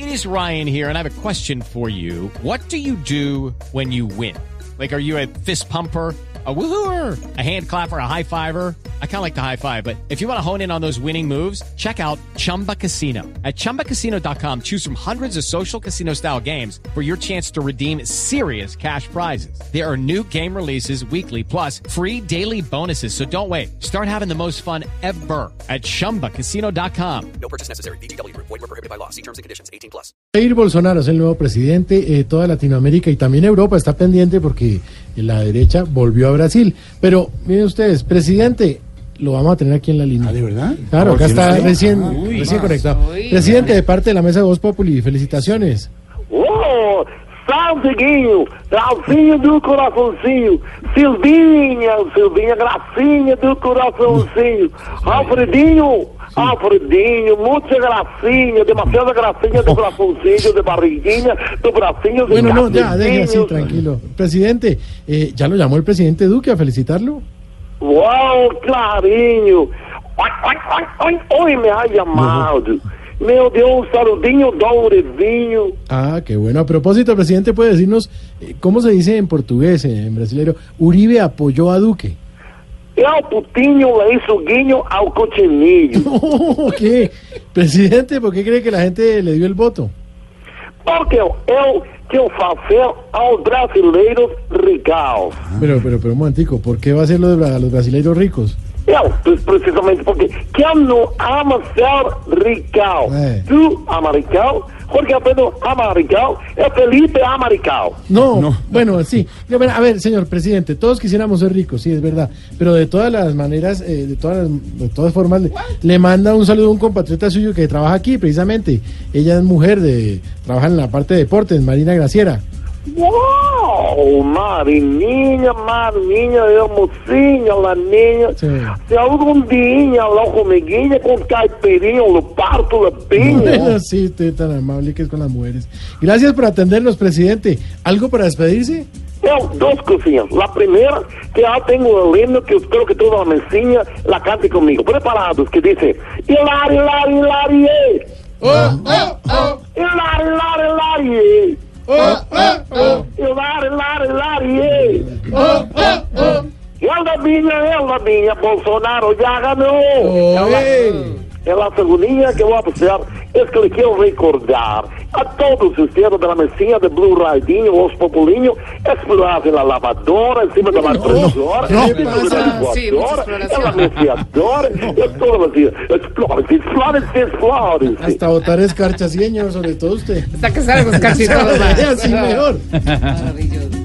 is Ryan here, and I have a question for you. What do you do when you win? Like, are you a fist pumper, a woohooer, a hand clapper, a high fiver? I kind of like the high five, but if you want to hone in on those winning moves, check out Chumba Casino. At ChumbaCasino.com, choose from hundreds of social casino-style games for your chance to redeem serious cash prizes. There are new game releases weekly, plus free daily bonuses, so don't wait. Start having the most fun ever at ChumbaCasino.com. No purchase necessary. VGW Group. Void where prohibited by law. See terms and conditions. 18+. Jair Bolsonaro es el nuevo presidente. Toda Latinoamérica y también Europa está pendiente porque la derecha volvió a Brasil. Pero miren ustedes, presidente, lo vamos a tener aquí en la línea. ¿De verdad? Claro, acá está recién conectado. Presidente, de parte de la mesa de Voz Populi, felicitaciones. ¡Oh! Salveguinho, Alvinho do coraçãozinho, Silvinha, gracinha do coraçãozinho, Alfredinho, mucha gracinha, demasiada gracinha do coraçãozinho, de barriguinha, do bracinho. Bueno, no, ya, deje así, tranquilo. Presidente, ¿ya lo llamó el presidente Duque a felicitarlo? ¡Wow, clarinho! Hoy me ha llamado. Meu Deus, saludinho, dourevinho. Ah, qué bueno. A propósito, presidente, ¿puede decirnos cómo se dice en portugués, en brasileño? Uribe apoyó a Duque. El putinho le hizo guiño al cochinillo. ¿Qué? Presidente, ¿por qué cree que la gente le dio el voto? Porque eu quero fazer aos brasileiros ricos. Pero un momentico, ¿por qué va a hacerlo a los brasileiros ricos? Pues precisamente porque quem não ama ser rico? Tu ama rico, Jorge Alfredo ama rico, Felipe ama rico. No, bueno, sí. A ver, señor presidente, todos quisiéramos ser ricos, sí, es verdad. Pero de todas las maneras, de todas formas, le manda un saludo a un compatriota suyo que trabaja aquí, precisamente. Ella es mujer, trabaja en la parte de deportes, Marina Graciera. ¡Wow! Marininha, mocinha, laninha. Se algún día habla conmiguinha con caipirinha, lo parto, lo piño. Bueno, sí, usted tan amable que es con las mujeres. Gracias por atendernos, presidente. ¿Algo para despedirse? Dos cosillas. La primera, que ya tengo el himno que espero que toda la mesinha la cante conmigo. Preparados, que dice: Hilari, Hilari, Hilari, Hilari, Hilari, Hilari, Ela minha, Bolsonaro ya ganó. La segunda que voy a hacer es que le quiero recordar a todos ustedes de la mesilla de Blue Radinho, Voz Populinho, explorar en la lavadora, encima de la freidora, encima de la licuadora, en la meciadora, explórense. Hasta botar escarcha, señor, sobre todo usted. Hasta que salga escarcha y todo. Así mejor. Maravilloso.